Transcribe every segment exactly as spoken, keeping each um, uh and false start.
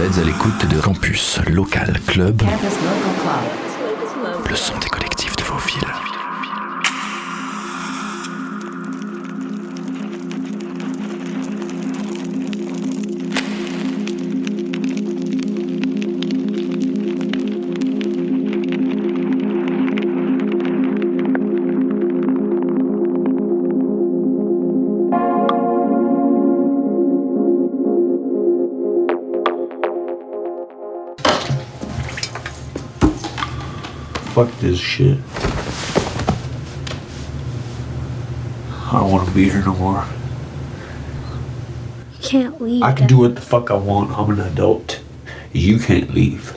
êtes à l'écoute de Campus Local Club, le son des collectifs de vos villes. Fuck this shit. I don't want to be here no more. You can't leave. I can do what the fuck I want. I'm an adult. You can't leave.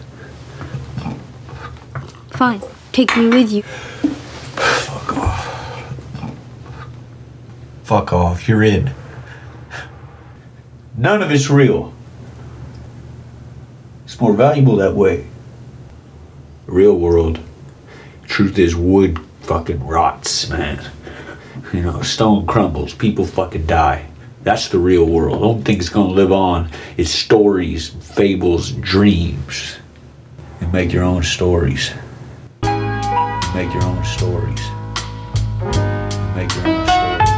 Fine. Take me with you. Fuck off. Fuck off. You're in. None of it's real. It's more valuable that way. The real world. Truth is, wood fucking rots, man. You know, stone crumbles, people fucking die. That's the real world. The only thing that's gonna live on is stories, fables, dreams. And make your own stories. Make your own stories. Make your own stories. Make your own stories.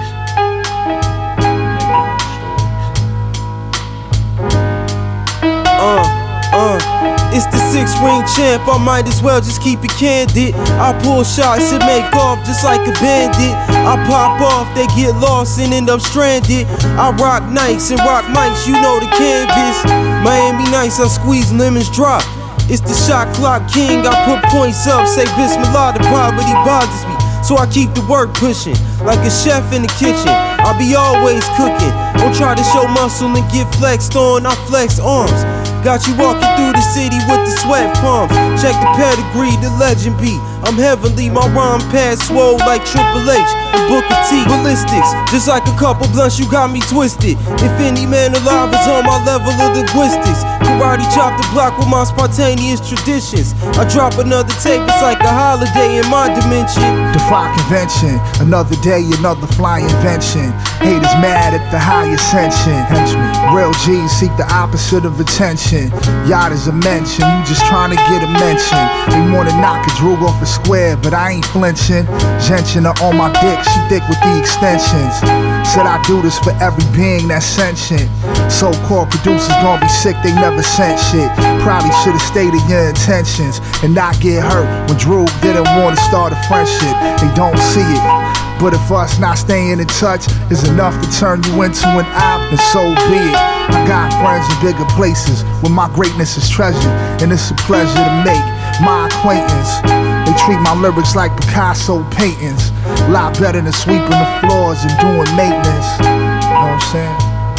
Uh, uh. It's the six-ring champ, I might as well just keep it candid. I pull shots and make off just like a bandit. I pop off, they get lost and end up stranded. I rock Nikes and rock mics, you know the canvas. Miami Nice, I squeeze lemons drop. It's the shot clock king, I put points up. Say Bismillah, the poverty bothers me, so I keep the work pushing. Like a chef in the kitchen, I be always cooking. Don't try to show muscle and get flexed on, I flex arms. Got you walking through the city with the sweat palms. Check the pedigree, the legend be. I'm heavenly, my rhyme pad swole like Triple H and Booker T. Ballistics, just like a couple blunts, you got me twisted. If any man alive is on my level of linguistics, karate chop the block with my spontaneous traditions. I drop another tape, it's like a holiday in my dimension. Defy convention, another day, another fly invention. Haters mad at the high ascension. Henchman, real G's seek the opposite of attention. Yacht is a mention, you just trying to get a mention. They wanna knock a droog off a square, but I ain't flinching. Gentian are on my dick, she thick with the extensions. Said I do this for every being that's sentient. So-called producers gon' be sick, they never sent shit. Probably should've stated your intentions and not get hurt when Droog didn't wanna start a friendship. They don't see it, but if us not staying in touch is enough to turn you into an op, then so be it. I got friends in bigger places where my greatness is treasured, and it's a pleasure to make my acquaintance. They treat my lyrics like Picasso paintings. A lot better than sweeping the floors and doing maintenance. You know what I'm saying?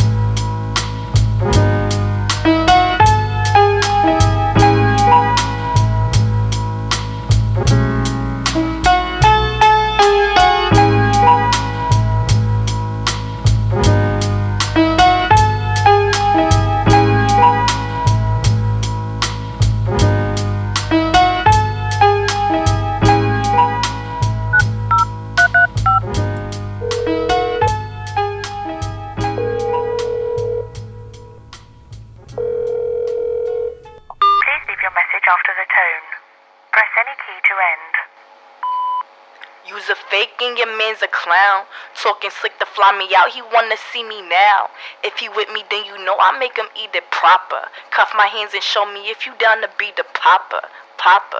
A clown, talking slick to fly me out. He wanna see me now. If he with me, then you know I make him eat it proper. Cuff my hands and show me if you down to be the popper, popper.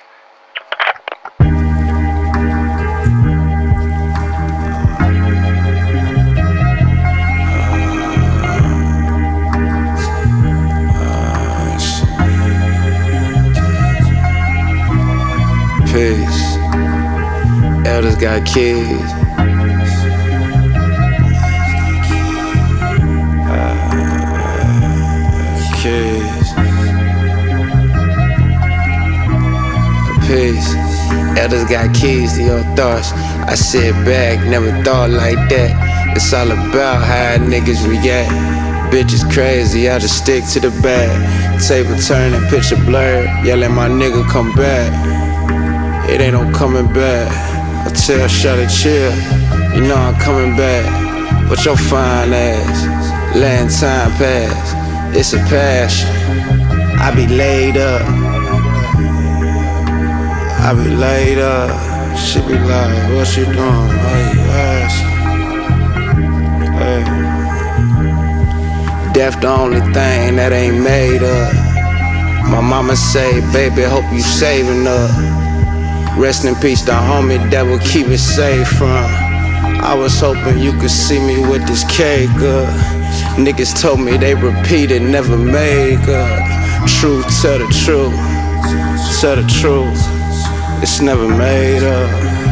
Peace. Elders got kids. Uh, kids. Peace. Elders got keys to your thoughts. I sit back, never thought like that. It's all about how niggas react. Bitches crazy, I just stick to the bag. Table turning, picture blurred. Yelling my nigga come back. It ain't no coming back. I tell Shawty chill, you know I'm coming back. But your fine ass, letting time pass. It's a passion. I be laid up. I be laid up. She be like, what you doing? Why you ask? Hey. Death the only thing that ain't made up. My mama say, baby, hope you saving up. Rest in peace, the homie that will keep it safe from. I was hoping you could see me with this cake up. Niggas told me they repeated, never make up. Truth, tell the truth, tell the truth. It's never made up.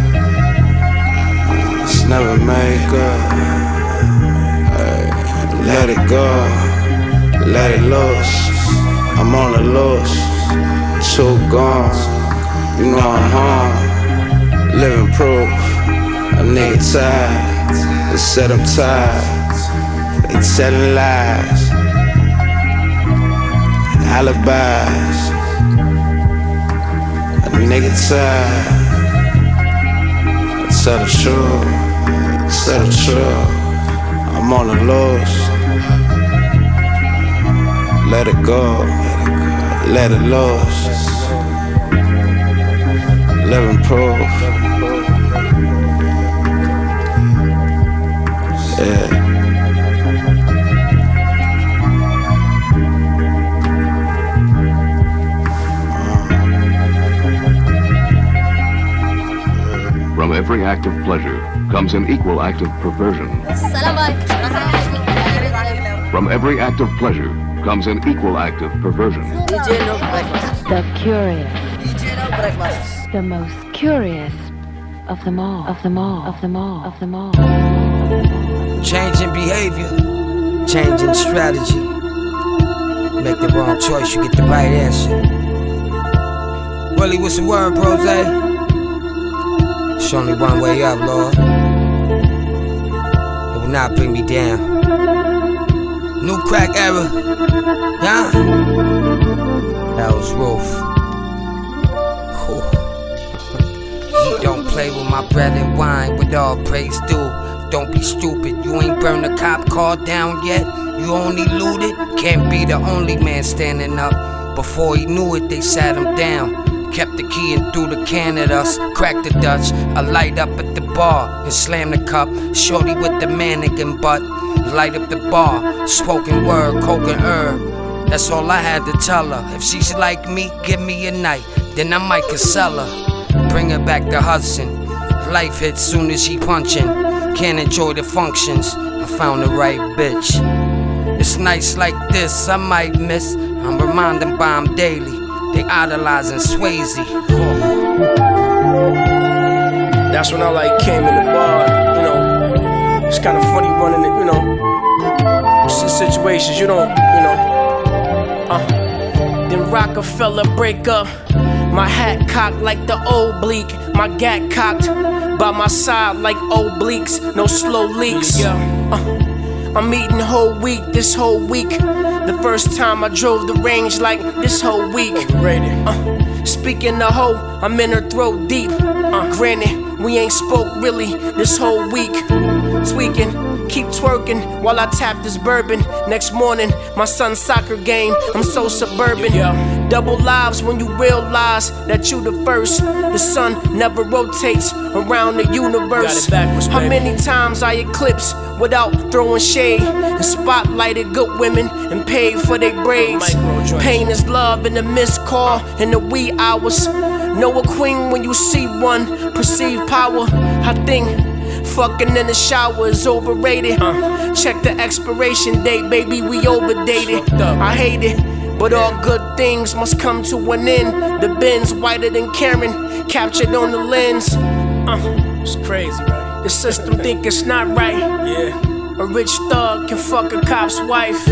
It's never made up. Hey, let it go, let it loose. I'm on the loose, too gone. You know I'm home, living proof. A nigga tired, they said I'm tired. They telling lies, alibis. A nigga tired. I tell the truth, tell the truth. I'm on the loose. Let it go, let it loose. Living proof. Yeah. From every act of pleasure comes an equal act of perversion. From every act of pleasure comes an equal act of perversion. The curious. The most curious of them all, of them all, of them all, of them all. Changing behavior, changing strategy. Make the wrong choice, you get the right answer. Willie, what's the word, Brose? It's only one way up, Lord. It will not bring me down. New crack era, yeah. That was Roof. Don't play with my bread and wine, with all praise due. Don't be stupid, you ain't burned the cop car down yet. You only looted, can't be the only man standing up. Before he knew it, they sat him down. Kept the key and threw the can at us. Cracked the Dutch, I light up at the bar and slam the cup. Shorty with the mannequin butt, light up the bar. Spoken word, coke and herb. That's all I had to tell her. If she's like me, give me a night, then I might console her. Bring her back to Hudson. Life hits soon as she punchin'. Can't enjoy the functions. I found the right bitch. It's nights like this I might miss. I'm reminding by 'em daily. They idolizing Swayze. Oh. That's when I like came in the bar. You know, it's kind of funny running it. You know, see situations you don't. You know. Uh. Then Rockefeller break up. My hat cocked like the oblique. My gat cocked by my side like obliques. No slow leaks. Uh, I'm eating whole week this whole week. The first time I drove the range like this whole week. Uh, speaking of hoe, I'm in her throat deep. Uh, granted, we ain't spoke really this whole week. Tweaking, keep twerking while I tap this bourbon. Next morning, my son's soccer game. I'm so suburban. Double lives when you realize that you the first. The sun never rotates around the universe. How many times I eclipse without throwing shade and spotlighted good women and paid for their braids. Pain is love in the missed call in the wee hours. Know a queen when you see one. Perceive power. I think fucking in the shower is overrated. Uh, check the expiration date, baby, we overdated. I hate it, but all good things must come to an end. The Benz whiter than Karen, captured on the lens. Uh, it's crazy, right? The system think it's not right. Yeah. A rich thug can fuck a cop's wife.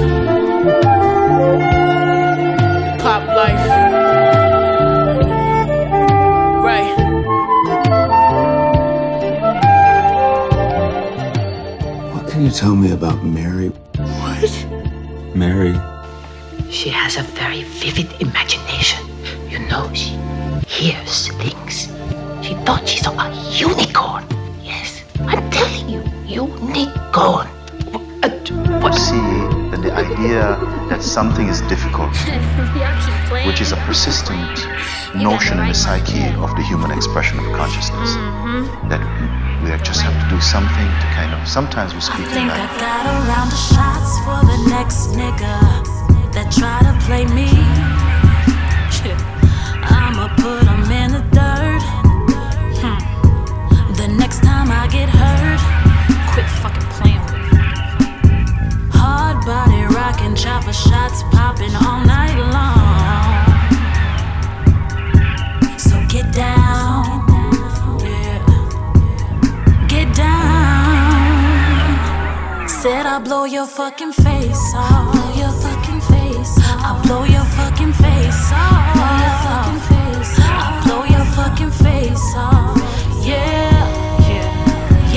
Pop life. Right. Can you tell me about Mary? What? Mary? She has a very vivid imagination. You know, she hears things. She thought she saw a unicorn. Yes, I'm telling you, unicorn. What? See, than the idea that something is difficult, which is a persistent notion in the psyche of the human expression of consciousness. Mm-hmm. That we just have to do something to kind of, sometimes we speak I think like, I got a round of shots for the next nigga that try to play me. I'ma put him in the dirt. Hmm. The next time I get hurt, quit fucking playing with me. Hard body rockin', chopper shots popping all night long. So get down, yeah. Get down. Said I'll blow your fucking face off. Blow your fucking face off. I'll blow your fucking face off. Blow your fucking face off. I'll blow your fucking face off. Yeah, yeah,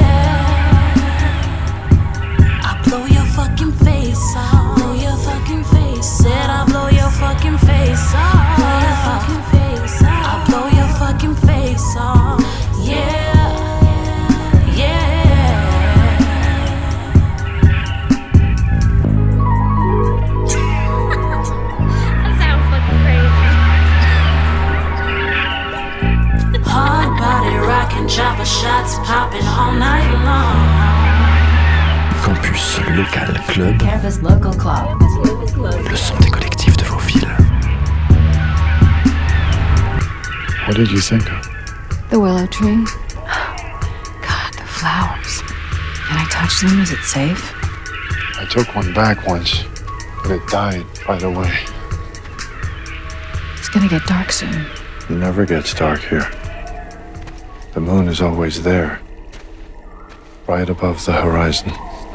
yeah. I'll blow your fucking face off. Blow your fucking face. Said I'll blow your fucking face off. Blow your fucking face off. I'll blow your fucking face off. Yeah, yeah. That sounds fucking crazy. Hard body rockin', chopper shots popping all night long. Campus Local Club. Campus Local Club. Le son des collectifs de vos villes. What did you think of? The willow tree. God, the flowers. Can I touch them? Is it safe? I took one back once, but it died right away. It's gonna get dark soon. It never gets dark here. The moon is always there, right above the horizon.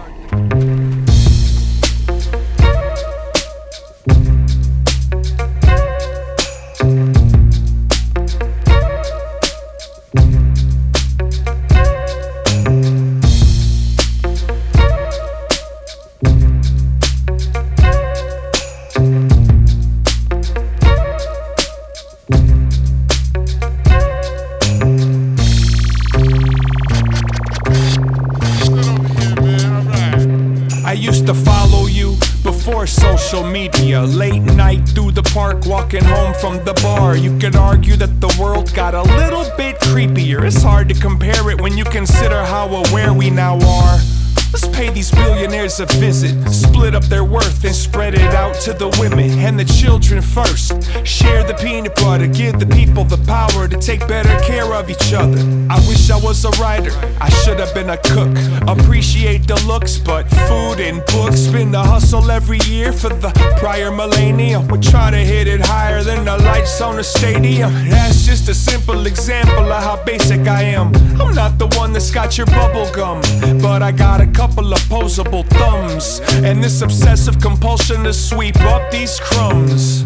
Social media, late night through the park, walking home from the bar. You could argue that the world got a little bit creepier. It's hard to compare it when you consider how aware we now are. Let's pay these billionaires a visit, split up their worth and spread it out to the women and the children first. Share the peanut butter, give the people the power to take better care of each other. I wish I was a writer, I should have been a cook. Appreciate the looks, but food and books been the hustle every year for the prior millennium. We try to hit it higher than the lights on the stadium. That's just a simple example of how basic I am. I'm not the one that's got your bubble gum, but I got a couple of posable thumbs and this obsessive compulsion to sweep up these crumbs.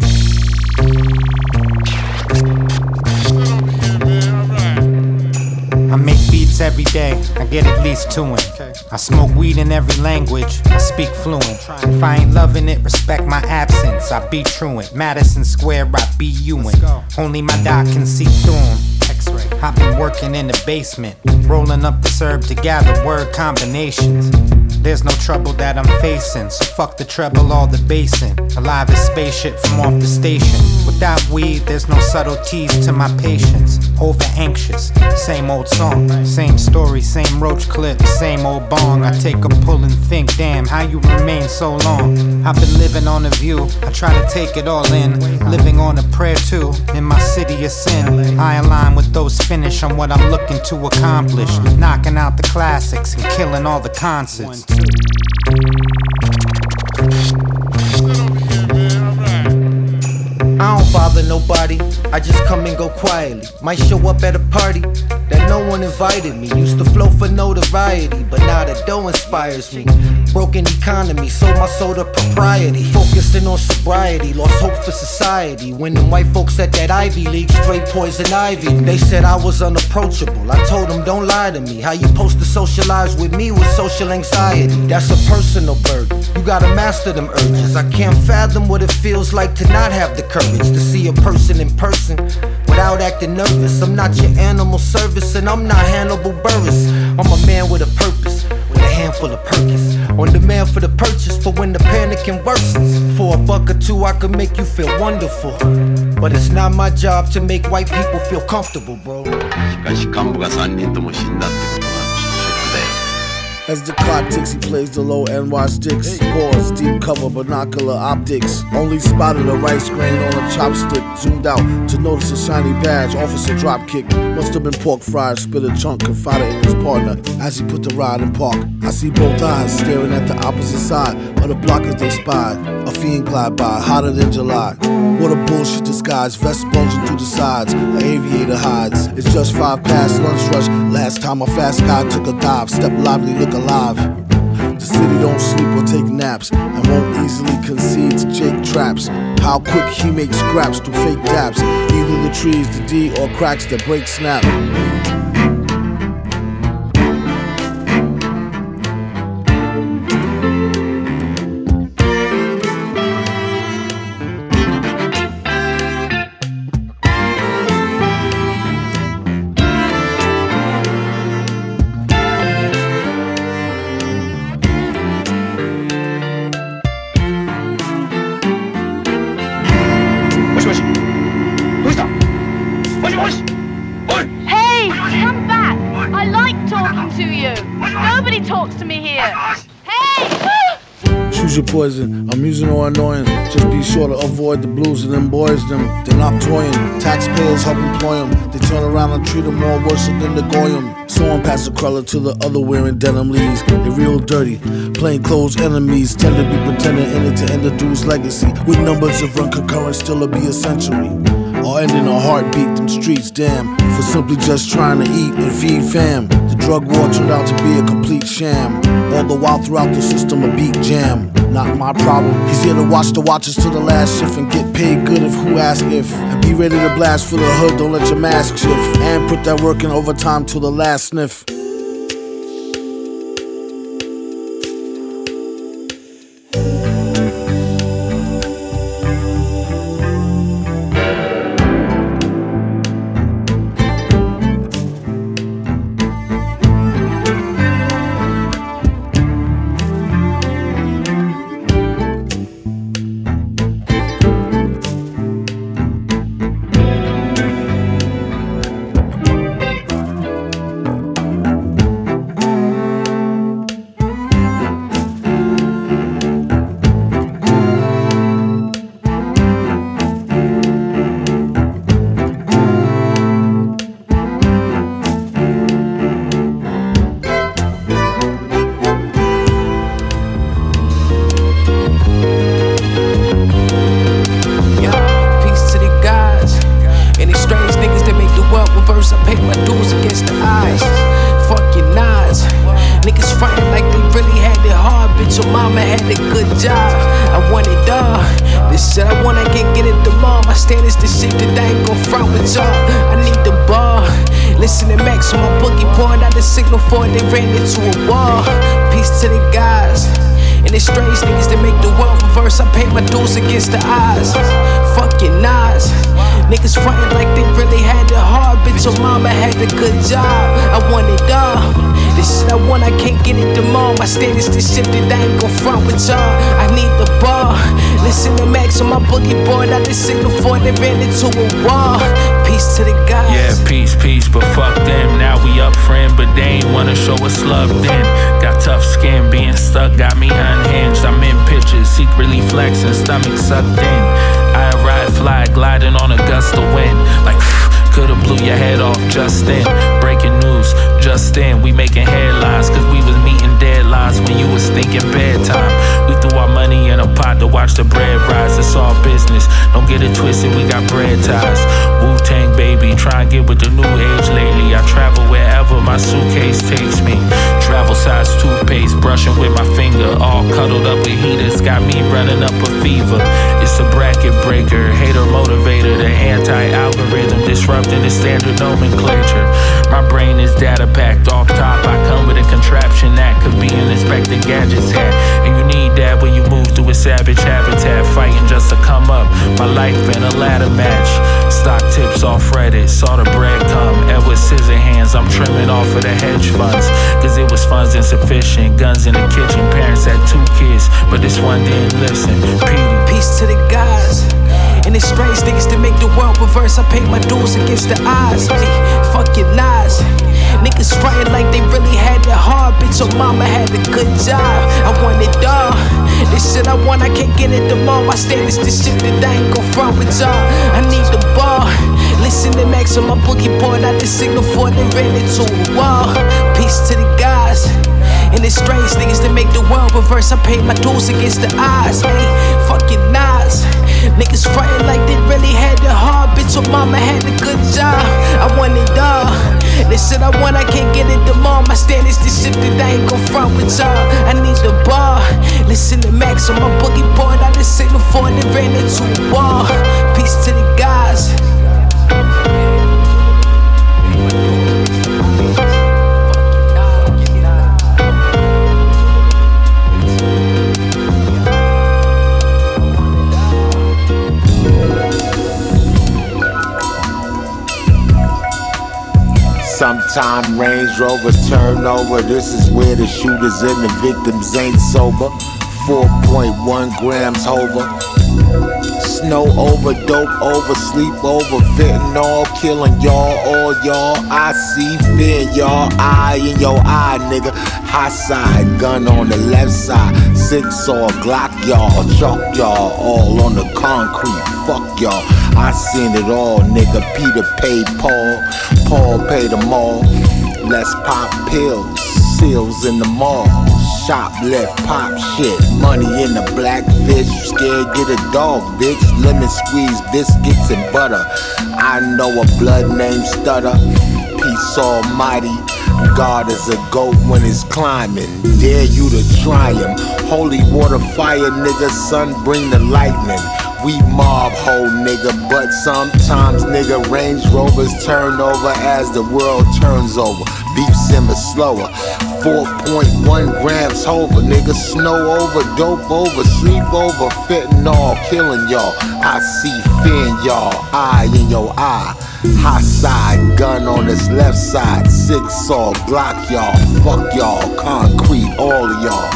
I make beats every day, I get at least two in. I smoke weed in every language, I speak fluent. If I ain't loving it, respect my absence, I be truant. Madison Square, I be you-in. Only my doc can see through 'em. I've been working in the basement, rolling up this herb to gather word combinations. There's no trouble that I'm facing, so fuck the treble, all the basin. Alive as spaceship from off the station. Without weed, there's no subtleties to my patience. Over anxious, same old song, same story, same roach clip, same old bong. I take a pull and think, damn, how you remain so long? I've been living on a view, I try to take it all in. Living on a prayer too, in my city of sin. I align with those finish on what I'm looking to accomplish. Knocking out the classics and killing all the concerts. I don't bother nobody, I just come and go quietly. Might show up at a party that no one invited me. Used to flow for notoriety, but now the dough inspires me. Broken economy, sold my soul to propriety. Focusing on sobriety, lost hope for society. When them white folks at that Ivy League straight poison ivy. They said I was unapproachable, I told them don't lie to me. How you supposed to socialize with me with social anxiety? That's a personal burden, you gotta master them urges. I can't fathom what it feels like to not have the courage to see a person in person without acting nervous. I'm not your animal service and I'm not Hannibal Buress. I'm a man with a purpose, with a handful of Perkins. On demand for the purchase, for when the panicking worsens. For a buck or two, I could make you feel wonderful. But it's not my job to make white people feel comfortable, bro. As the clock ticks, he plays the low N Y sticks. Pause, deep cover, binocular optics. Only spotted a rice grain on a chopstick. Zoomed out to notice a shiny badge. Officer drop kick. Must have been pork fried. Spit a chunk, confided in his partner as he put the ride in park. I see both eyes staring at the opposite side of the block as they spied. A fiend glide by, hotter than July. What a bullshit disguise. Vest bulging through the sides. An aviator hides. It's just five past lunch rush. Last time a fast guy took a dive. Step lively, look alive. The city don't sleep or take naps and won't easily concede to Jake traps. How quick he makes scraps through fake daps. Either the trees, the D, or cracks that break snap. Hey, come back! I like talking to you. Nobody talks to me here. Hey! Choose your poison, amusing or annoying. Just be sure to avoid the blues and them boys, them. They're not toying. Taxpayers help employ them. They turn around and treat them more worse than the goyim. So on past the cruller to the other wearing denim leaves. They real dirty, plain clothes enemies. Tend to be pretending in it to end the dude's legacy. With numbers of run concurrent, still it'll be a century. Or ending a heartbeat, them streets, damn. For simply just trying to eat and feed fam. The drug war turned out to be a complete sham. All the while throughout the system a beat jam. Not my problem. He's here to watch the watches to the last shift and get paid good if who ask if. And be ready to blast for the hood, don't let your mask shift. And put that work in overtime till the last sniff. Before they ran into a wall. Peace to the guys and the strange niggas that make the world reverse. I pay my dues against the odds. Fuck your Nas. Niggas frontin' like they really had it hard. Bitch, your mama had a good job. I want it all. This shit I want, I can't get it tomorrow. My standards to shit that I ain't gon' front with y'all. I need the ball. Listen to Max on my boogie board. I just signal for they ran into a wall. Peace to the guys. Yeah, peace, peace, but fuck them. Now we up, friend, but they ain't wanna show us love then. Got tough skin, being stuck got me unhinged. I'm in pictures, secretly flexing, stomach sucked in. I ride, fly, gliding on a gust of wind. Like, could've blew your head off just then. Breaking news, just then. We making headlines, cause we was meeting deadlines when you was thinking bedtime. We threw our money in a pot to watch the bread rise. It's all business, don't get it twisted, we got bread ties. Wu-Tang baby, try and get with the new age lately. I travel wherever my suitcase takes me. Travel size toothpaste, brushing with my finger. All cuddled up with heaters, got me running up a fever. It's a bracket breaker, hater motivator. The anti-algorithm disrupting the standard nomenclature. My brain is data packed off top. I come with a contraption that could be an Inspector Gadget's hat. And you need that when you move through a savage habitat. Fighting just to come up, my life been a ladder match. Stock tips off Reddit, saw the bread come. Edward Scissorhands bands. I'm trimming off of the hedge funds, cause it was funds insufficient. Guns in the kitchen, parents had two kids, but this one didn't listen. Petey. Peace to the guys. And it's strange things to make the world reverse. I pay my dues against the odds. Hey, fuck your lies. Niggas frontin' like they really had it hard. Bitch, your mama had a good job. I want it all. This shit I want, I can't get it tomorrow. My standards, this shit that I ain't gon' front with y'all. I need the ball. Listen to Max on my boogie board. I just signal for it and ran it to a wall. Peace to the guys. And it's strange things to make the world reverse. I paid my dues against the odds. Hey, fucking Nas. Niggas frontin' like they really had it hard. Bitch, your mama had a good job. I want it all. This shit I want, I can't get it tomorrow. My standards, this shit that I ain't gon' front with y'all. I need the ball. Listen to Max on my boogie board. I just signal for it and ran into a wall. Peace to the guys. Sometime Range Rover turn over. This is where the shooters and the victims ain't sober. four point one grams over. Snow over, dope over, sleep over, fentanyl killing y'all, all y'all. I see fear in y'all, eye in your eye, nigga. High side, gun on the left side. Six or Glock y'all, chalk y'all, all on the concrete. Fuck y'all, I seen it all, nigga. Peter paid Paul, Paul paid them all. Let's pop pills, seals in the mall. Shoplift, pop shit, money in the blackfish. You scared, get a dog, bitch. Lemon squeeze, biscuits and butter. I know a blood named Stutter. Peace almighty. God is a goat when it's climbing. Dare you to try him. Holy water fire, nigga. Sun bring the lightning. We mob hoe, nigga, but sometimes, nigga, Range Rovers turn over as the world turns over. Beef simmer slower. four point one grams over, nigga. Snow over, dope over, sleep over, fentanyl killing y'all. I see fear in y'all, eye in your eye. High side, gun on this left side. Six saw, block y'all, fuck y'all, concrete, all of y'all.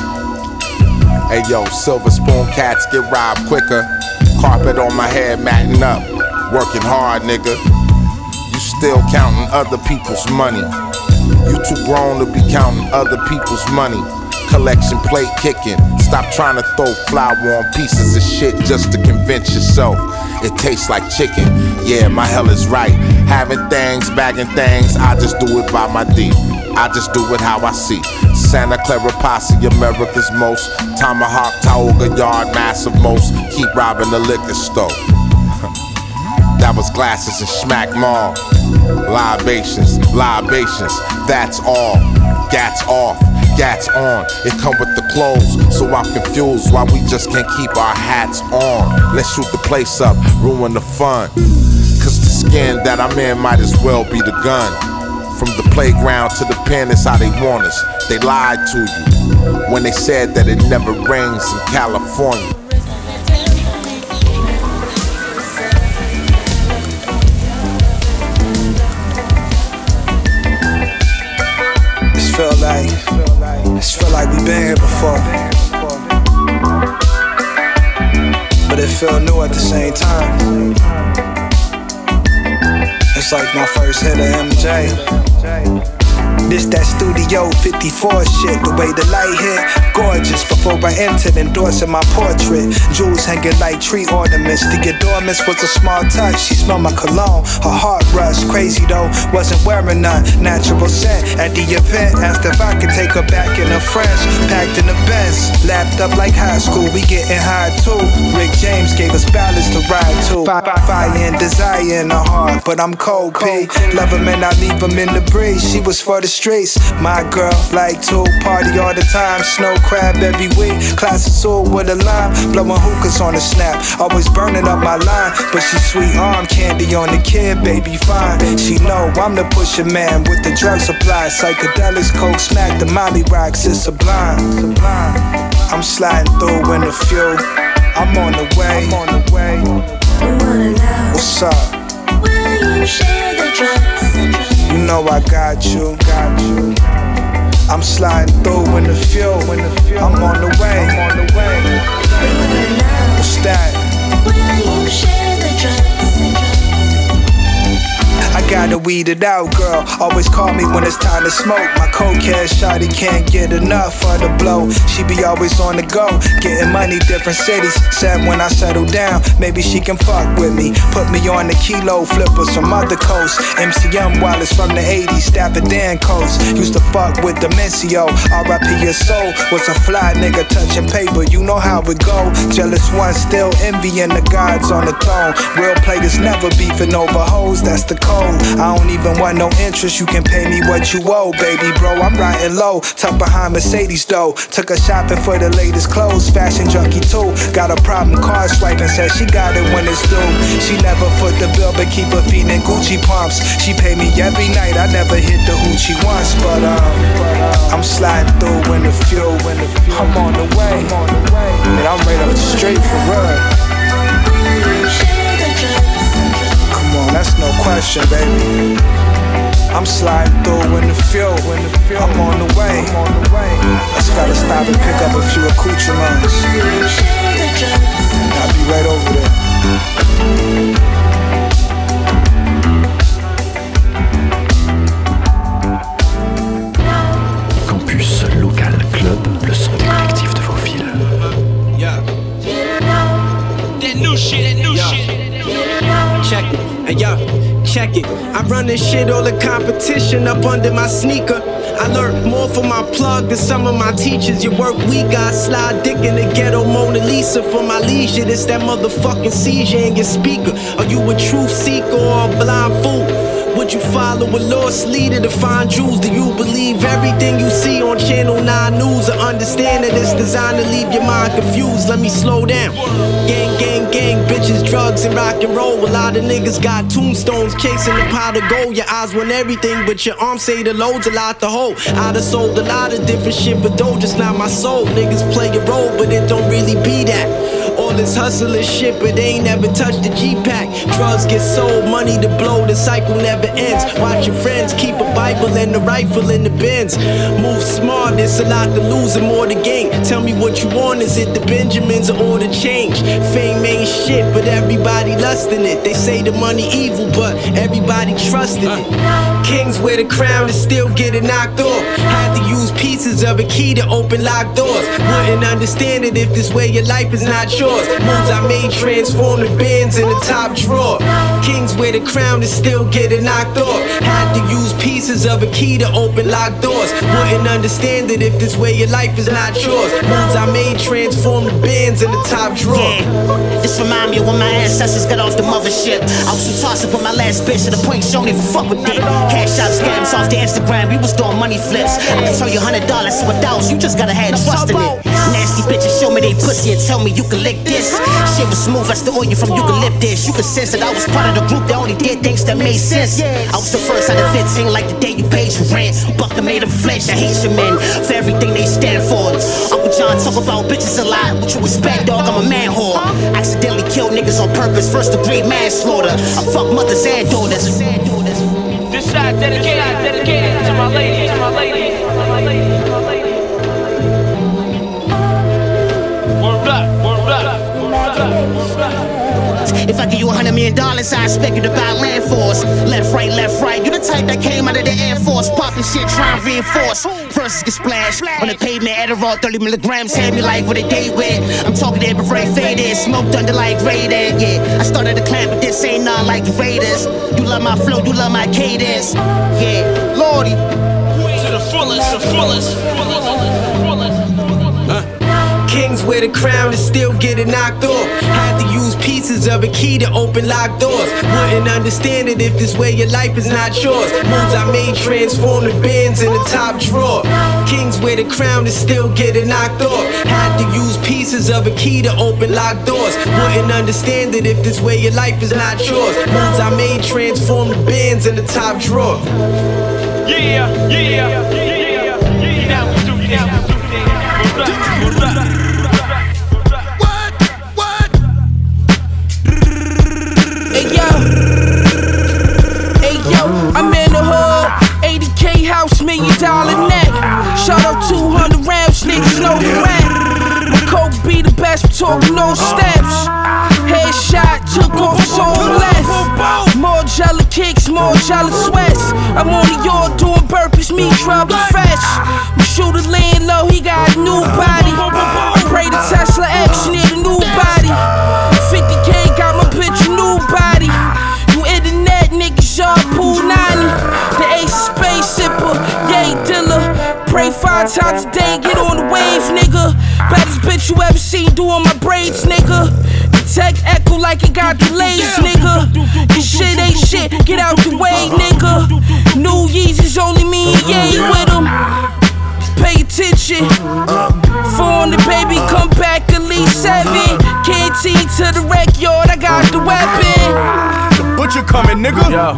Hey yo, silver spoon cats get robbed quicker. Carpet on my head, matting up. Working hard, nigga. You still counting other people's money. You too grown to be counting other people's money. Collection plate kicking. Stop trying to throw flour on pieces of shit just to convince yourself it tastes like chicken. Yeah, my hell is right. Having things, bagging things, I just do it by my D. I just do it how I see. Santa Clara Posse, America's most. Tomahawk, Tioga Yard, massive most. Keep robbing the liquor store. That was glasses and Schmack Mall. Libations, libations, that's all. Gats off, gats on. It come with the clothes, so I'm confused why we just can't keep our hats on. Let's shoot the place up, ruin the fun. Cause the skin that I'm in might as well be the gun. From the playground to the pen, it's how they want us. They lied to you when they said that it never rains in California. This feel like, this feel like we been here before, but it feel new at the same time. It's like my first hit of M J. This that Studio fifty-four shit, the way the light hit, gorgeous. Before I entered, endorsing my portrait. Jewels hanging like tree ornaments. The adornments was a small touch. She smelled my cologne, her heart rushed. Crazy though, wasn't wearing none. Natural scent at the event. Asked if I could take her back in her French. Packed in the Benz, lapped up like high school. We getting high too. Rick James gave us ballads to ride to. Fire and desire in her heart, but I'm cold P. Love him and I leave him in the breeze. She was for the streets, my girl like to party all the time. Snow crab every week, class of soul with a lime. Blowing hookahs on the snap, always burning up my line. But she sweet arm candy on the kid, baby fine. She know I'm the pusher man with the drug supply. Psychedelics, coke, smack, the Molly rocks, it's sublime. I'm sliding through in a few. I'm on the way. I'm on the way. What's up? Will you share the drugs? You know I got you, got you. I'm sliding through in the fuel. I'm on the way. What's that? Will you share the drugs? I gotta weed it out, girl. Always call me when it's time to smoke. My cokehead shawty can't get enough of the blow. She be always on the go, getting money, different cities. Said when I settle down, maybe she can fuck with me. Put me on the kilo flippers from other coasts. M C M Wallace from the eighties, Dapper Dan coast. Used to fuck with Demencio. R I P your soul. Was a fly nigga touching paper. You know how it go. Jealous one still envying the gods on the throne. Real players never beefing over hoes. That's the code. I don't even want no interest, you can pay me what you owe, baby bro. I'm riding low, tucked behind Mercedes though. Took her shopping for the latest clothes, fashion junkie too. Got a problem card swiping, said she got it when it's due. She never foot the bill, but keep her feet in Gucci pumps. She pay me every night, I never hit the hoochie once, but um, I'm sliding through in the fuel. I'm on the way, and I'm right up the street for real. That's no question, baby. I'm sliding through in the fuel. I'm on the way. Just gotta stop and pick up a few accoutrements. I'll be right over there. Campus Local Club, le son des collectifs de vos villes. Yeah. That new shit, that new shit. Check it. Hey, yo, check it. I run this shit, all the competition up under my sneaker. I learned more from my plug than some of my teachers. Your work week, I slide dick in the ghetto Mona Lisa for my leisure. It's that motherfucking seizure in your speaker. Are you a truth seeker or a blind fool? Would you follow a lost leader to find jewels? Do you believe everything you see on Channel nine News? Or understand that it's designed to leave your mind confused? Let me slow down. Gang, gang, gang, bitches, drugs, and rock and roll. A lot of niggas got tombstones chasing the pot of gold. Your eyes want everything, but your arms say the load's a lot to hold. I done sold a lot of different shit, but though just not my soul. Niggas play a role, but it don't really be that. All this hustle is shit, but they ain't never touched the G-Pack. Drugs get sold, money to blow, the cycle never ends. Watch your friends, keep a Bible and a rifle in the bins. Move smart, there's a lot to lose and more to gain. Tell me what you want, is it the Benjamins or the change? Fame ain't shit, but everybody lusting it. They say the money evil, but everybody trusting it. Kings wear the crown and still get it knocked off. Had to use pieces of a key to open locked doors. Wouldn't understand it if this way your life is not yours. Moves I made transform the bins in the top drawer. Kings wear the crown and still get it knocked off. Had to use pieces of a key to open locked doors. Wouldn't understand it if this way your life is not yours. Moves I made transform the bins in the top drawer. Yeah. This remind me of when my ancestors got off the mothership. I was too toxic with my last bitch to the point she don't even fuck with it. Cash out scams off the Instagram, we was doing money flips. I can tell you hundred dollars to a thousand, you just gotta have trust in it. Nasty bitches show me they pussy and tell me you can lick this. Shit was smooth as the oil from eucalyptus. You could sense that I was part of the group that only did things that made sense. I was the first out of fifteen, like the day you paid your rent. Buckner made them flinch, I hate your men for everything they stand for. Uncle John talk about bitches a lot, what you expect, dog? I'm a man whore. Accidentally kill niggas on purpose, first degree manslaughter. I fuck mothers and daughters. This side dedicated, dedicated to my ladies, to my ladies, to my ladies, to my ladies. Word up, word up, word up, word up. If I give you a hundred million dollars, I expect you to buy land for us. Left, right, left, right. You the type that came out of the Air Force, popping shit, trying to reinforce. Verses get splashed on the pavement, Adderall, thirty milligrams, had me like what a day with. I'm talking that beret faded, smoked under like Raiden. Yeah, I started to climb, but this ain't none like the Raiders. You love my flow, you love my cadence. Yeah, Lordy. To the fullest, the fullest, fullest, fullest. Huh? Kings wear the crown and still get it knocked off. Had to use pieces of a key to open locked doors. Wouldn't understand it if this way your life is not yours. Moves I made transform the bins in the top drawer. Kings wear the crown and still get it knocked off. Had to use pieces of a key to open locked doors. Wouldn't understand it if this way your life is not yours. Moves I made transform the bins in the top drawer. Yeah, yeah, yeah, yeah, yeah. Now we do, now we do things. What's up? What? What? Hey yo, hey yo, I'm in the hood. we talking no steps. Headshot, took off so left. More jelly kicks, more jelly sweats. I'm on the yard doing burpees, me trouble fresh. My shooter laying low, he got a new body. Pray to Tesla X, you need a new body. fifty K got my bitch a new body. You internet niggas, y'all pool ninety. The ace space sipper, yay dealer. Pray five times a day, get on the wave, nigga. Baddest bitch you ever seen doing my braids, nigga. The tech echo like it got delays, nigga. This shit ain't shit, get out the way, nigga. New Yeezys only me and Ye with them. Pay attention. four hundred baby, come back at least seven. Canteen to the rec yard, I got the weapon. The butcher coming, nigga. Yo.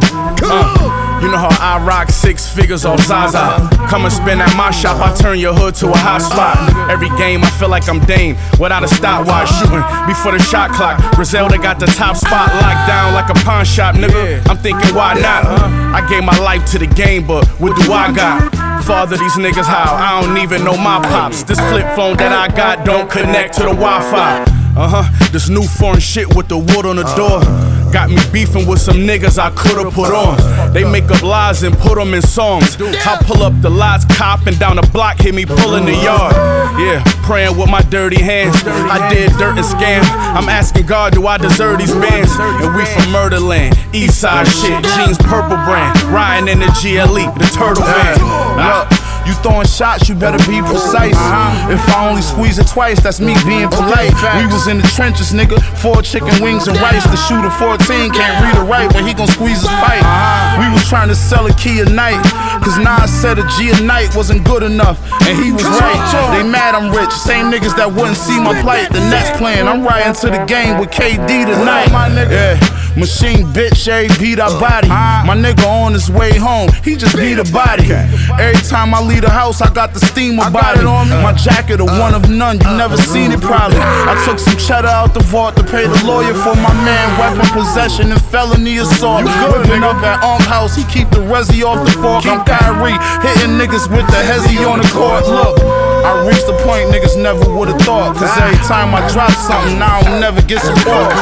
Uh, you know how I rock six figures off Zaza. Come and spin at my shop, I turn your hood to a hot spot. Every game I feel like I'm Dame without a stopwatch, shooting before the shot clock. Griselda got the top spot locked down like a pawn shop, nigga. I'm thinking why not? I gave my life to the game, but what do I got? Father these niggas how? I don't even know my pops. This flip phone that I got don't connect to the Wi-Fi. Uh-huh, this new foreign shit with the wood on the door got me beefing with some niggas I could've put on. They make up lies and put them in songs. I pull up the lots, cop, and down the block, hit me pulling the yard. Yeah, praying with my dirty hands. I did dirt and scam. I'm asking God, do I deserve these bands? And we from Murderland, East Side shit, jeans purple brand, riding in the G L E, the turtle van. Look, you throwing shots, you better be precise. If I only squeeze it twice, that's me being polite. We was in the trenches, nigga, four chicken wings and rice. The shooter fourteen can't read or write, but he gon' squeeze his pipe. We was trying to sell a key a night, cause Nas said a G a night wasn't good enough, and he was right. They mad I'm rich, same niggas that wouldn't see my plight. The Nets playing, I'm riding to the game with K D tonight. Yeah, machine bitch, A beat our body. My nigga on his way home, he just beat a body. Every time I leave the house, I got the steam about it. My jacket a one of none, you never seen it probably. I took some cheddar out the vault to pay the lawyer for my man. Weapon possession and felony assault. Whipping up at Unk House, he keep the resi off the fork. I'm Kyrie, hitting niggas with the hezzy on the court. Look, I reached the point niggas never would've thought, cause every time I drop something, I don't never get support.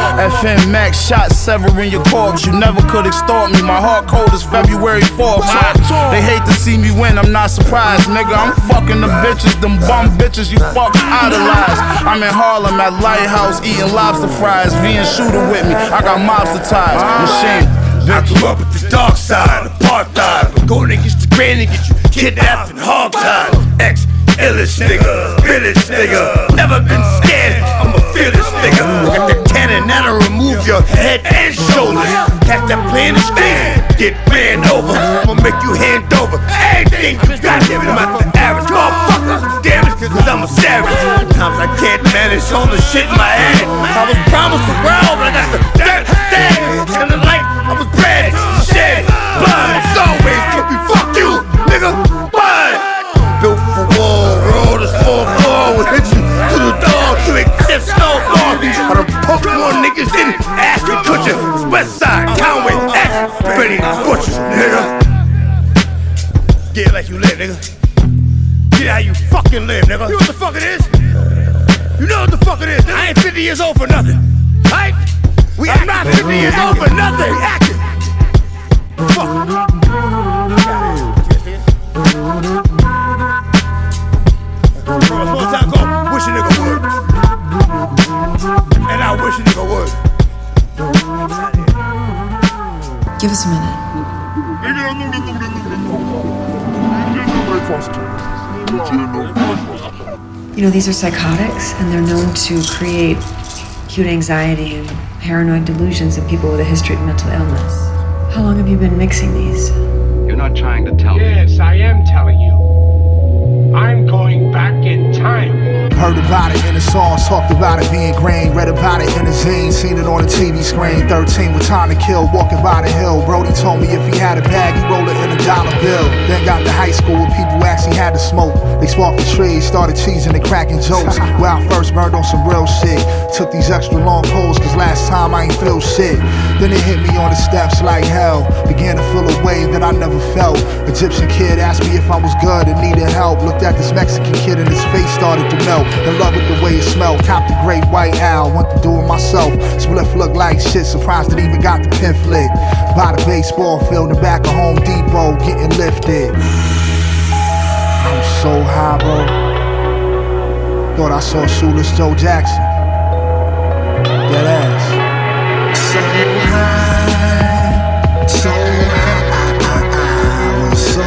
F M Max shot severing your corpse. You never could extort me, my heart cold is February fourth. They hate to see me win, I'm not surprised, nigga. I'm fucking the bitches, them bum bitches you fuck idolize. I'm in Harlem at Lighthouse eating lobster fries. V and shooter with me, I got mobster ties. Machine. I grew up with the dark side, apartheid. But going against the grain and get you kidnapped and hog-tied. Ex illest nigga, realest nigga. Never been scared, I'm a fearless nigga. Got the cannon that'll remove your head and shoulders. Catch that plane and stand, get ran over. I'ma make you hand over everything you got. I'm not the average motherfucker. Damn it, cause I'm a savage. Sometimes I can't manage all the shit in my head. I was promised the world, but I got the dirt stains. And the light, I was bred, shed, blood. It's always gonna be fuck you, nigga. Blood. Built for war, roll this four floor. Would hit you to the door to exist no more. I done poked more niggas than Ashton Kutcher. West Side, Conway, X, Benny Butchers, nigga. Get like you live, nigga. Get how you fucking live, nigga. You know what the fuck it is? You know what the fuck it is, nigga. I ain't fifty years old for nothing. Right? We I'm not fifty years old for nothing. We acting. Fuck. One time go, wish a nigga would. And I wish a nigga would. Give us a minute. You know, these are psychotics, and they're known to create acute anxiety and paranoid delusions in people with a history of mental illness. How long have you been mixing these? You're not trying to tell yes, me. Yes, I am telling you. I'm going back in time. Heard about it in the songs, talked about it being grain, read about it in the zine, seen it on the T V screen. thirteen with time to kill, walking by the hill. Brody told me if he had a bag, he rolled it in a dollar bill. Then got to high school where people actually had to smoke. They sparked the trees, started teasing and cracking jokes. Where I first burned on some real shit. Took these extra long pulls, cause last time I ain't feel shit. Then it hit me on the steps like hell. Began to feel a wave that I never felt. Egyptian kid asked me if I was good and needed help. Look Looked at this Mexican kid and his face started to melt. In love with the way it smelled. Copped the great white owl, went to do it myself. Spliff looked like shit, surprised it even got the pin flick. By the baseball field, in the back of Home Depot, getting lifted. I'm so high, bro. Thought I saw Shoeless Joe Jackson. Dead ass. So high, so high, I was so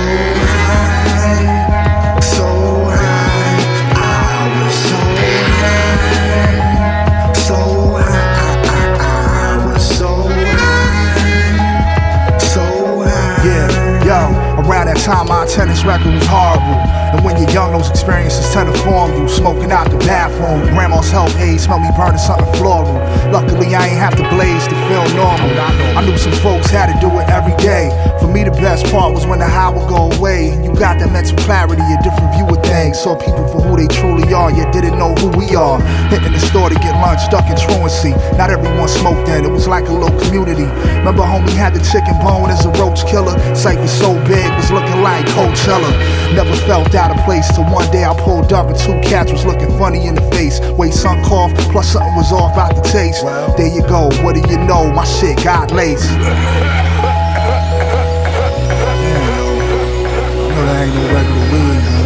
high, so high, I was so high, so high, I was so high, so high. Yeah, yo, around that time my attendance record was horrible. And when you're young, those experiences tend to form you. Smoking out the bathroom, grandma's health aid, smell me burning something floral. Luckily, I ain't have to blaze to feel normal. I knew some folks had to do it every day. For me, the best part was when the high would go away. You got that mental clarity, a different view of things. Saw people for who they truly are, yet didn't know who we are. Hitting the store to get lunch, stuck in truancy. Not everyone smoked then, it was like a little community. Remember homie had the chicken bone as a roach killer. Sight was so big, was looking like Coachella. Never felt that out of place till one day I pulled up and two cats was looking funny in the face. Way sunk cough, plus something was off about the taste. There you go, what do you know? My shit got laced. I know that ain't no regular weed, man.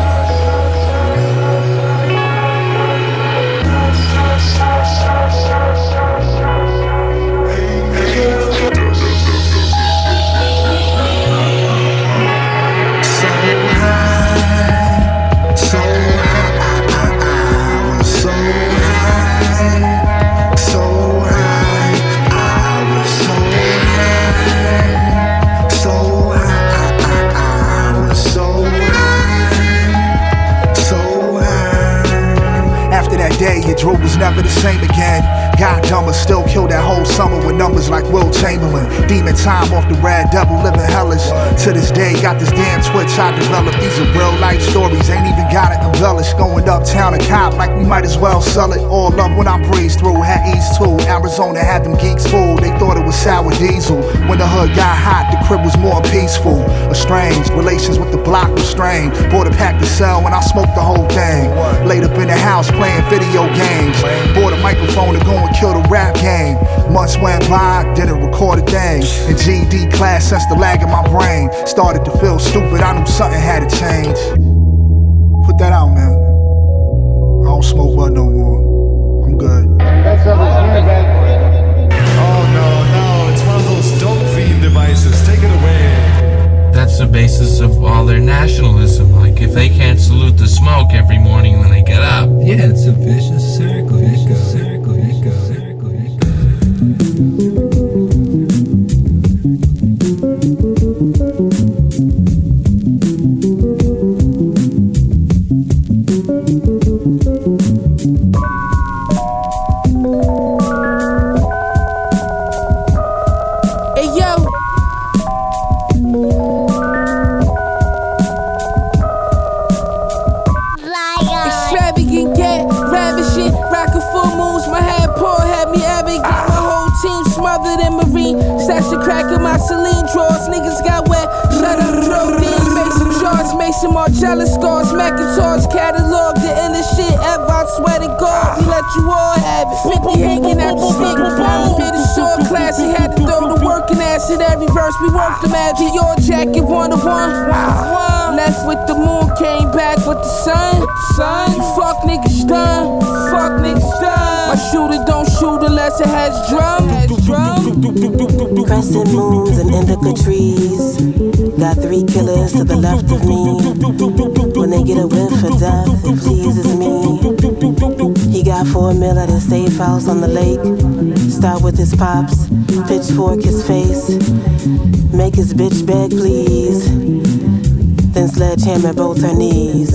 Your droop was never the same again. God dumber still killed that whole summer with numbers like Will Chamberlain. Demon time off the Red Devil, living hellish. To this day, got this damn twitch I developed. These are real life stories, ain't even got it embellished. Going uptown and cop like we might as well sell it. All up when I breezed through, had East too. Arizona had them geeks fooled, they thought it was sour diesel. When the hood got hot, the crib was more peaceful. Estranged, relations with the block was strained. Bought a pack to sell when I smoked the whole thing. Laid up in the house playing video games. Bought a microphone to go and kill the rap game. Months went by, didn't record a thing. In G E D class, since the lag in my brain started to feel stupid, I knew something had to change. Put that out, man. I don't smoke bud no more. I'm good. Oh no, no, it's one of those dope fiend devices. Take it away. That's the basis of all their nationalism. Like if they can't salute the smoke every morning when they get up. Yeah, it's a vicious circle. Vicious circle. Vicious circle. Marcellus scars, Macintosh catalog, the illest shit ever. I swear to God, we let you all have it. fifty hanging at the stick, bit of short classy, had to throw the working acid every verse. We worked the magic, your jacket one to one. Left with the moon, came back with the sun. Sun, you fuck niggas done, fuck niggas done. My shooter don't shoot unless it has drum. Crescent moons and indica trees. Got three killers to the left of me. When they get a whiff for death, it pleases me. He got four mil at his safe house on the lake. Start with his pops, pitchfork his face. Make his bitch beg, please. Then sledgehammer both her knees.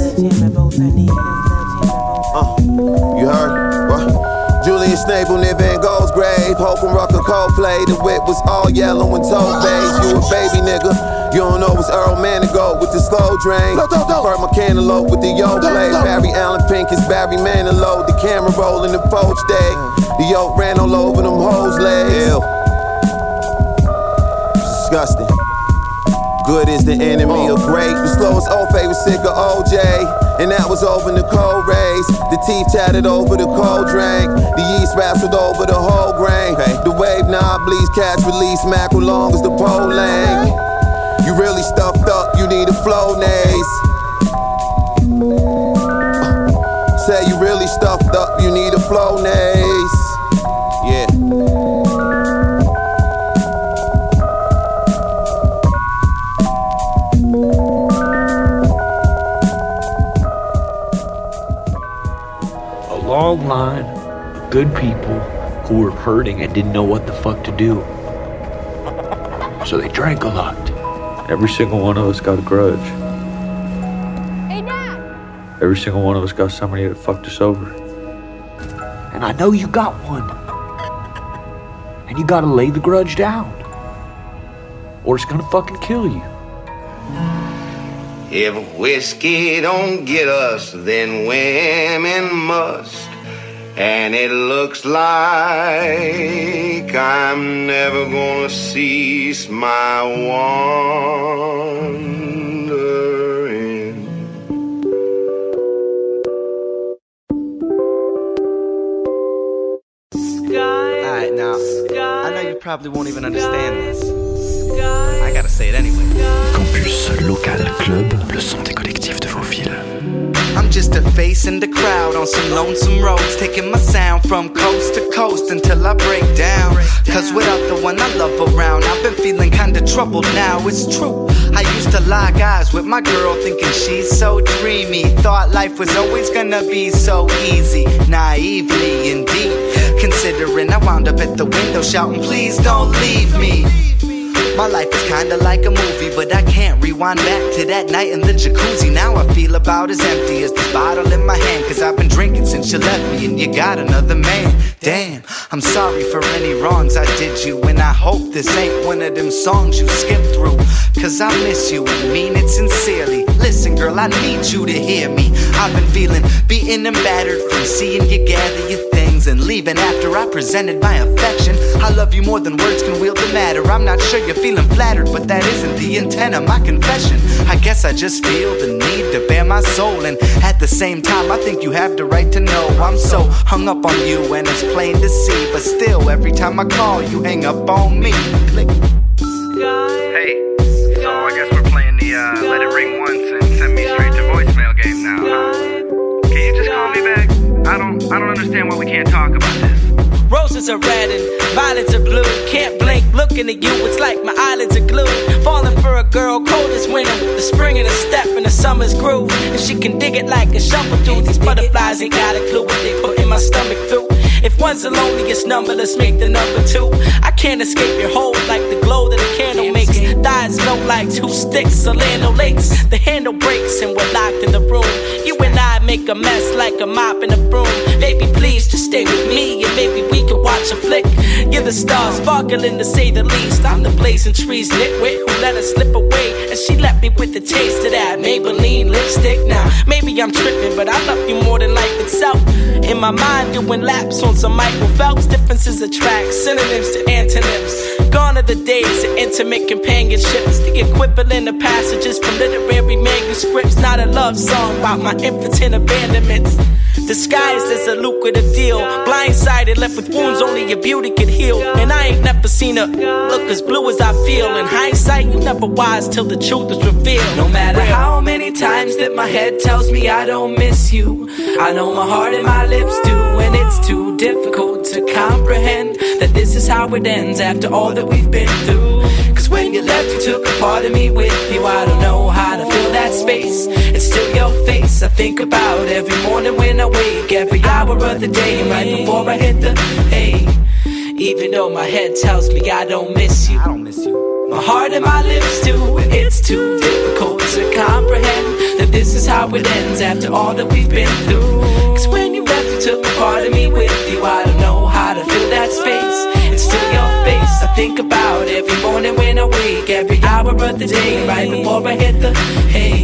Uh, you heard? What? Julian Snable near Van Gogh's grave. Hope and Rucker Coldplay. The whip was all yellow and toe beige. You a baby nigga. You don't know it's Earl Manigault with the slow drain. Burt my cantaloupe with the yo play. Barry Allen Pink is Barry Manilow. The camera rolling the poach day. The yoke ran all over them hoes' legs. Ew. Disgusting. Good is the enemy of great. The slowest old fade was sick of O J. And that was over the cold rays. The teeth tatted over the cold drink. The yeast wrestled over the whole grain. The wave knob bleeds, catch release, mackerel long as the pole lane. You really stuffed up, you need a flow naze. Say you really stuffed up, you need a flow naze. Yeah. Long line of good people who were hurting and didn't know what the fuck to do. So they drank a lot. Every single one of us got a grudge. Hey, Dad! Every single one of us got somebody that fucked us over. And I know you got one. And you gotta lay the grudge down. Or it's gonna fucking kill you. If whiskey don't get us, then women must. And it looks like I'm never gonna cease my wandering. Alright, now, I know you probably won't even understand this. I gotta say it anyway. Campus Local Club, le son des collectifs de vos villes. I'm just a face in the crowd on some lonesome roads, taking my sound from coast to coast until I break down. Cause without the one I love around, I've been feeling kinda troubled now, it's true. I used to lock eyes with my girl thinking she's so dreamy. Thought life was always gonna be so easy, naively indeed. Considering I wound up at the window shouting, please don't leave me. My life is kinda like a movie, but I can't rewind back to that night in the jacuzzi. Now I feel about as empty as this bottle in my hand, cause I've been drinking since you left me and you got another man. Damn, I'm sorry for any wrongs I did you, and I hope this ain't one of them songs you skip through. Cause I miss you and mean it sincerely. Listen girl, I need you to hear me. I've been feeling beaten and battered from seeing you gather your things and leaving after I presented my affection. I love you more than words can wield the matter. I'm not sure you're feeling flattered, but that isn't the intent of my confession. I guess I just feel the need to bare my soul, and at the same time I think you have the right to know I'm so hung up on you and it's plain to see. But still, every time I call you hang up on me. Click. Hey, so I guess we're playing the uh, let it ring once and send me straight to voicemail game now, huh? Can you just call me back? I don't, I don't understand why we can't talk about this. Roses are red and violets are blue. Can't blink, looking at you, it's like my eyelids are glued. Falling for a girl, cold as winter. The spring in the step and the summer's groove. And she can dig it like a shovel through. These butterflies ain't got a clue what they put in my stomach through. If one's the loneliest number, let's make the number two. I can't escape your hold like the glow that a candle makes. Thighs low like two sticks, Orlando Lakes. The handle breaks and we're locked in the room. You and I make a mess like a mop in a broom. Baby, please just stay with me and maybe we can watch a flick. You're the star, sparkling to say the least. I'm the blazing trees nitwit who let her slip away, and she left me with the taste of that Maybelline lipstick. Now, maybe I'm tripping, but I love you more than life itself. In my mind, doing laps on some Michael Phelps. Differences attract, synonyms to antonyms. Gone are the days of intimate companionships, the equivalent of passages from literary manuscripts. Not a love song about my impotent abandonments, disguised as a lucrative deal. Blindsided, left with wounds only your beauty could heal. And I ain't never seen her look as blue as I feel. In hindsight, you never wise till the truth is revealed. No matter how many times that my head tells me I don't miss you, I know my heart and my lips do. And it's too difficult to comprehend that this is how it ends after all that we've been through. Cause when you left, you took a part of me with you. I don't know how to fill that space. It's still your face I think about every morning when I wake, every hour of the day, right before I hit the hay. Even though my head tells me I don't miss you, I don't miss you. My heart and my lips do. It's too difficult to comprehend that this is how it ends after all that we've been through. Cause when you left, you took a part of me with you. I don't know how to fill that space. It's still your face I think about every morning when I wake, every hour of the day, right before I hit the hay.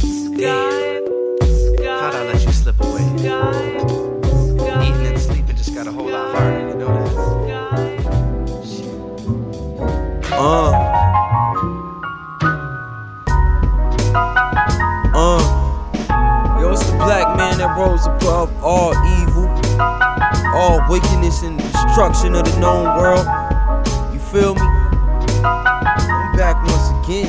How'd I let you slip away? Eating and sleeping just got a whole lot harder, you know that? Uh. wickedness and destruction of the known world. You feel me? I'm back once again.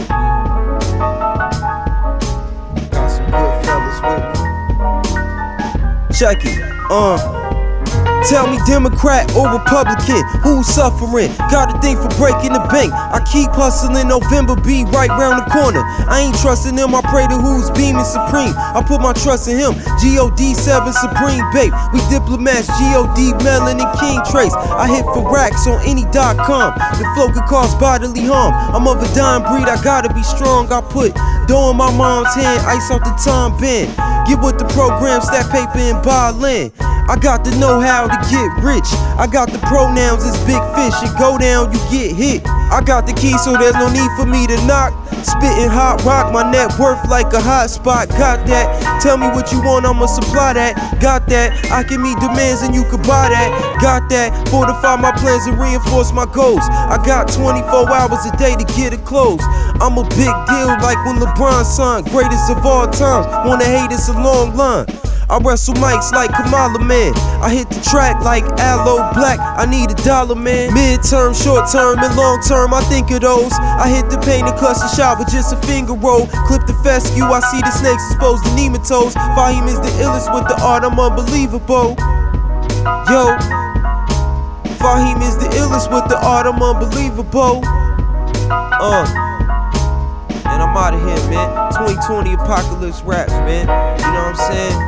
Got some good fellas with me. Check it, uh. Tell me Democrat or Republican, who's suffering? Got a thing for breaking the bank. I keep hustling, November be right round the corner. I ain't trusting them, I pray to who's beaming supreme. I put my trust in him, G O D seven Supreme, babe. We diplomats, G O D Melon and King Trace. I hit for racks on any dot com. The flow could cause bodily harm. I'm of a dying breed, I gotta be strong. I put dough in my mom's hand, ice off the Tom Bend. Get with the program, stack paper and buy land. I got the know-how to get rich. I got the pronouns, it's big fish. You go down, you get hit. I got the key, so there's no need for me to knock. Spitting hot rock, my net worth like a hot spot. Got that? Tell me what you want, I'ma supply that. Got that? I can meet demands and you could buy that. Got that? Fortify my plans and reinforce my goals. I got twenty-four hours a day to get it closed. I'm a big deal like when LeBron signed. Greatest of all times, wanna hate it's a long line. I wrestle mics like Kamala, man. I hit the track like Aloe Black. I need a dollar, man. Mid-term, short-term, and long-term, I think of those. I hit the paint and clutch the shot with just a finger roll. Clip the fescue, I see the snakes exposed to nematodes. Fahim is the illest with the art, I'm unbelievable. Yo, Fahim is the illest with the art, I'm unbelievable. Uh, and I'm out of here, man. twenty twenty apocalypse raps, man. You know what I'm saying?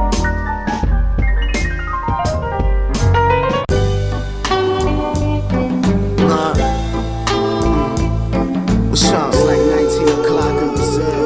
What's up? It's like nineteen o'clock in Brazil.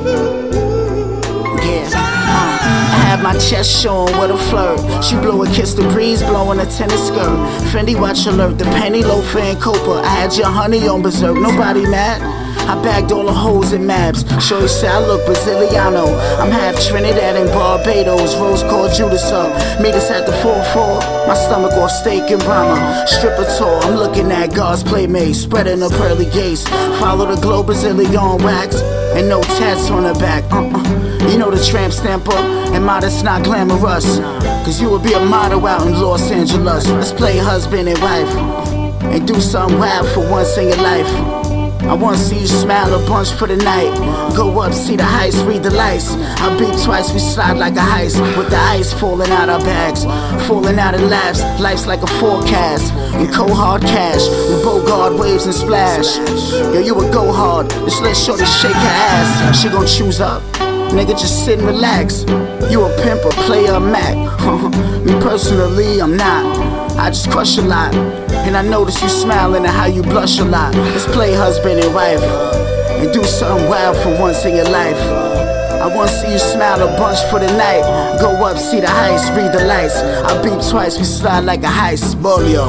Yeah, uh, I had my chest showing with a flirt. She blew a kiss, the breeze blowing a tennis skirt. Fendi watch alert, the penny loafer and Copa. I had your honey on berserk, nobody mad. I bagged all the hoes in Mabs. Shorty say I look Braziliano. I'm half Trinidad and Barbados. Rose called Judas up. Made us at the four four. My stomach off steak and Brahma. Stripper tour. I'm looking at God's playmates. Spreading the pearly gates. Follow the globe Brazilian wax. And no tats on her back. Uh-uh. You know the tramp stamper. And modest not glamorous. Cause you would be a model out in Los Angeles. Let's play husband and wife. And do something wild for once in your life. I wanna see you smile a bunch for the night. Go up, see the heights, read the lights. I beat twice, we slide like a heist. With the ice falling out our bags, falling out in laps. Life's like a forecast, in cold hard cash. We bogard waves and splash. Yo, you a go hard, just let shorty shake her ass. She gon' choose up, nigga just sit and relax. You a pimp, a player, a Mac. Me personally, I'm not. I just crush a lot. And I notice you smiling and how you blush a lot. Let's play husband and wife and do something wild for once in your life. I wanna see you smile a bunch for the night. Go up, see the heights, read the lights. I beat twice, we slide like a heist. Bolio.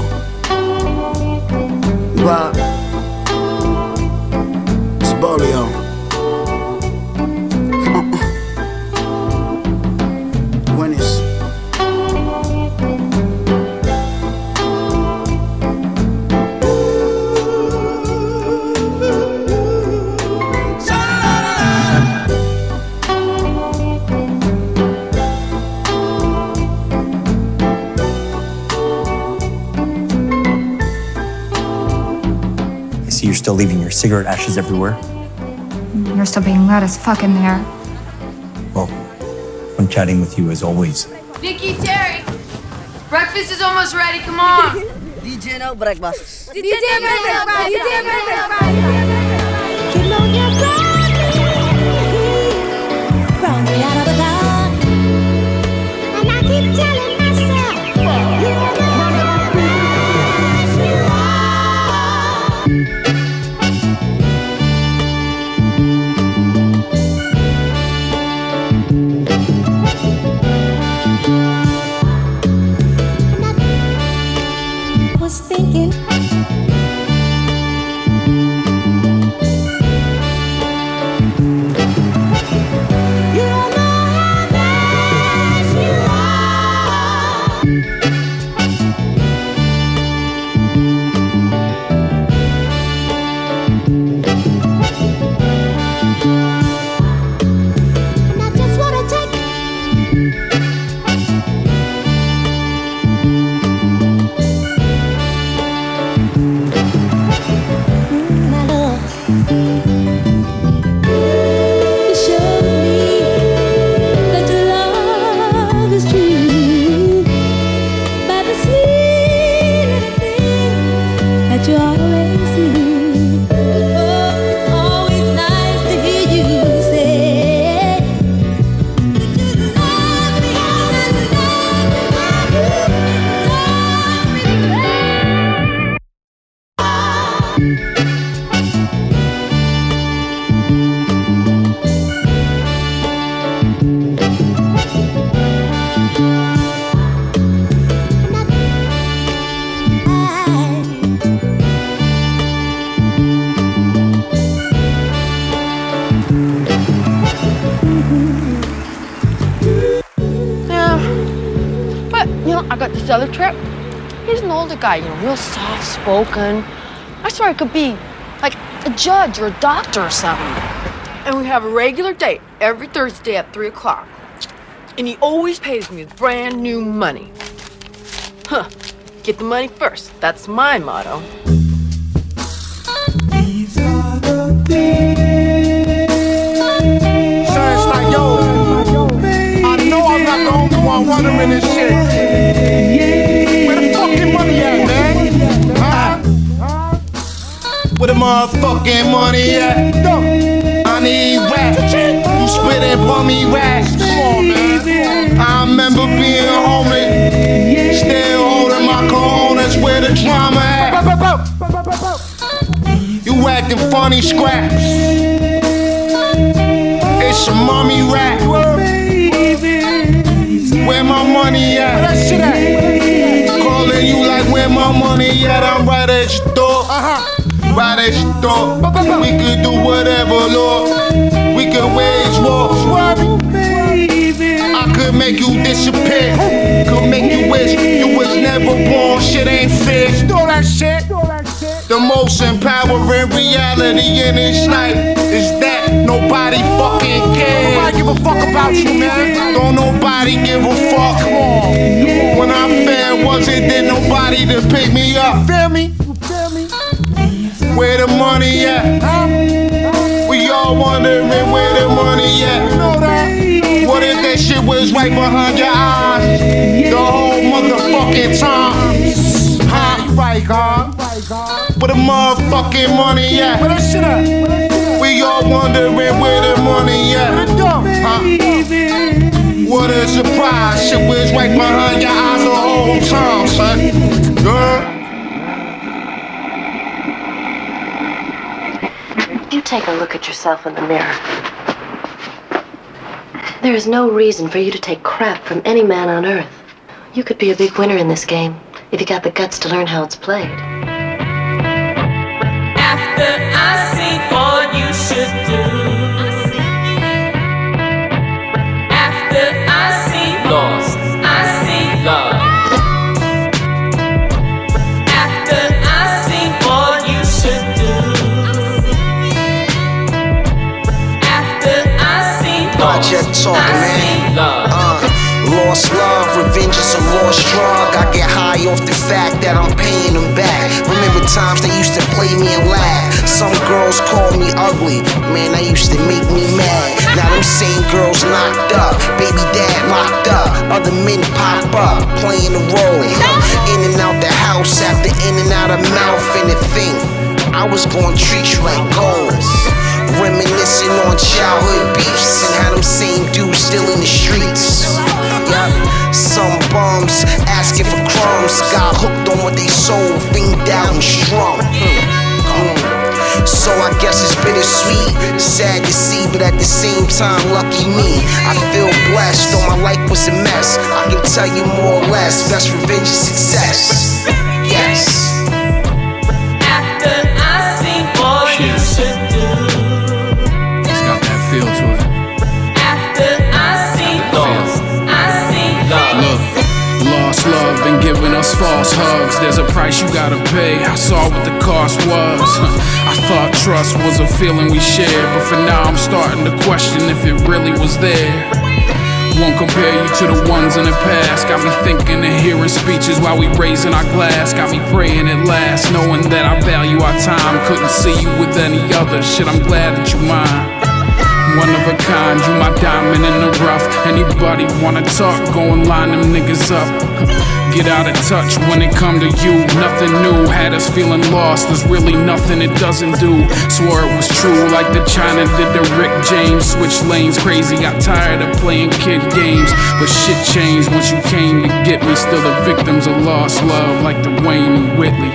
Right. It's Bolio. When it's You're still leaving your cigarette ashes everywhere. You're still being loud as fuck in there. Well, fun chatting with you as always. Vicky, Terry, breakfast is almost ready. Come on. D J no breakfast. D J no breakfast. D J no breakfast. Brought me out of the dark, and I keep telling myself, you're the best you are. Was thinking other trip, he's an older guy, you know, real soft-spoken. I swear he could be like a judge or a doctor or something. And we have a regular date every Thursday at three o'clock. And he always pays me with brand new money. Huh. Get the money first. That's my motto. These are the things. So it's like, yo, I know I'm not the only one wondering this shit. Where the fucking money at, man? Huh? Where the motherfucking money at? I need rap. You spit and pour me raps. Come on, man. I remember being homeless. Still holding my cologne. That's where the drama at. You acting funny scraps. It's a mommy rap. Where my money at? Where that shit at? Calling you like where my money at? I'm right at your door. Uh-huh. Right at your door. We could do whatever, Lord. We could wage war. I could make you disappear. Could make you wish you was never born. Shit ain't fair. Stole that shit. The most empowering reality in this life is that nobody fucking cares. Nobody give a fuck about you, man. Don't nobody give a fuck. Come on. When I fell, wasn't there nobody to pick me up? Feel me? Feel me? Where the money at? We all wondering where the money at. You know that? What if that shit was right behind your eyes the whole motherfucking time? Huh? You right, God. Where the motherfucking money at? Where that shit at? We all wondering where the money at. Where the dump? Huh? What a surprise! Shit was right behind your eyes the whole time, son. Girl. You take a look at yourself in the mirror. There is no reason for you to take crap from any man on earth. You could be a big winner in this game if you got the guts to learn how it's played. After I see all you should do, after I see lost, I see love. After I see all you should do, after I see lost, Project talking, man. Uh, lost love, revenge is a lost drug. I get high off the fact that I'm paying them back. Remember times they used to play me and laugh. Some girls call me ugly, man, that used to make me mad. Now them same girls locked up, baby dad locked up. Other men pop up, playing the role. In and out the house after in and out of mouth and the thing. I was gonna treat you like gold. Reminiscing on childhood beefs and how them same dudes still in the streets. Yup, some bums asking for crumbs, got hooked on what they sold, fiend out and strung. Mm. Mm. So I guess it's bittersweet, sad to see, but at the same time, lucky me. I feel blessed, though my life was a mess. I can tell you more or less, best revenge is success. Yes. After I see all you should do. Feel to it. After I see lost, I see love. Look, lost love been giving us false hugs. There's a price you gotta pay. I saw what the cost was. I thought trust was a feeling we shared, but for now I'm starting to question if it really was there. Won't compare you to the ones in the past. Got me thinking and hearing speeches while we raising our glass. Got me praying at last, knowing that I value our time. Couldn't see you with any other. Shit, I'm glad that you mine. One of a kind, you my diamond in the rough. Anybody wanna talk, go and line them niggas up. Get out of touch when it come to you. Nothing new, had us feeling lost. There's really nothing it doesn't do. Swore it was true, like the China did the Rick James. Switch lanes, crazy, got tired of playing kid games. But shit changed once you came to get me. Still the victims of lost love, like the Wayne and Whitley.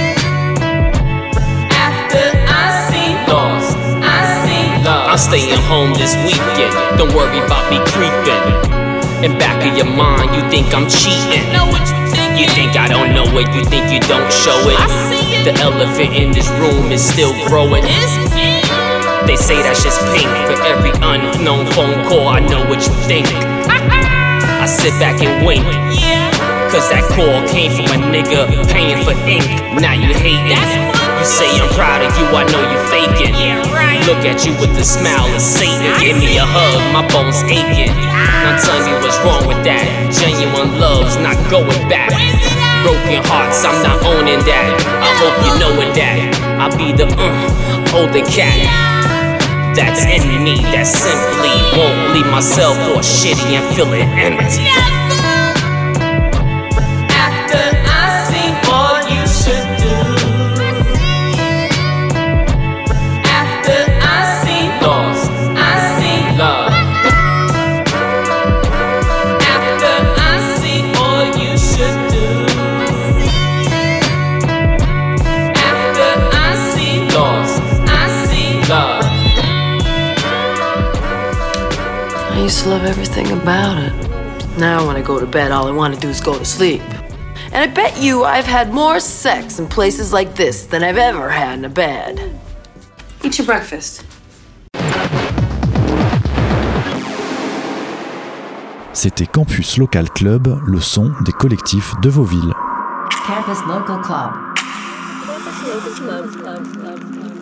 I'm staying home this weekend. Don't worry about me creeping. In back of your mind, you think I'm cheating. You think I don't know it, you think you don't show it. The elephant in this room is still growing. They say that's just pink. For every unknown phone call, I know what you think. I sit back and wink, cause that call came from a nigga paying for ink. Now you hating. You say I'm proud of you, I know you faking. Look at you with the smile of Satan. Give me a hug, my bones aching. Now tell me what's wrong with that. Genuine love's not going back. Broken hearts, I'm not owning that. I hope you knowin' that I'll be the uh, older cat that's in me, that simply won't leave myself all shitty and feel it empty. After I see all you should do, after I see lost, I see love. After I see all you should do, after I see lost, I see love. I used to love everything about it. Now when I go to bed, all I want to do is go to sleep. And I bet you I've had more sex in places like this than I've ever had in a bed. Eat your breakfast. C'était Campus Local Club, le son des collectifs de vos villes. Campus Local Club. Campus Local Club, Club, Club, Club.